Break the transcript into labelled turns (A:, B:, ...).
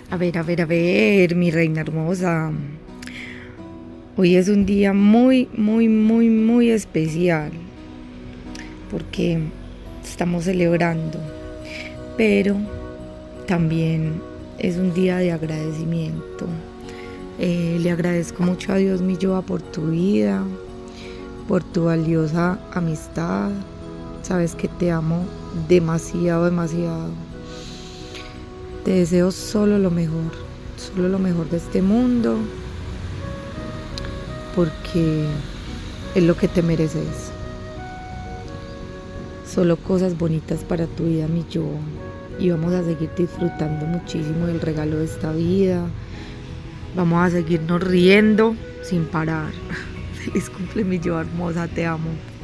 A: A ver, mi reina hermosa. Hoy es un día muy especial porque estamos celebrando, pero también es un día de agradecimiento. Le agradezco mucho a Dios, mi Yoa, por tu vida, por tu valiosa amistad. Sabes que te amo demasiado. Te deseo solo lo mejor de este mundo, porque es lo que te mereces. Solo cosas bonitas para tu vida, mi yo. Y vamos a seguir disfrutando muchísimo del regalo de esta vida. Vamos a seguirnos riendo sin parar. Feliz cumple, mi yo hermosa, te amo.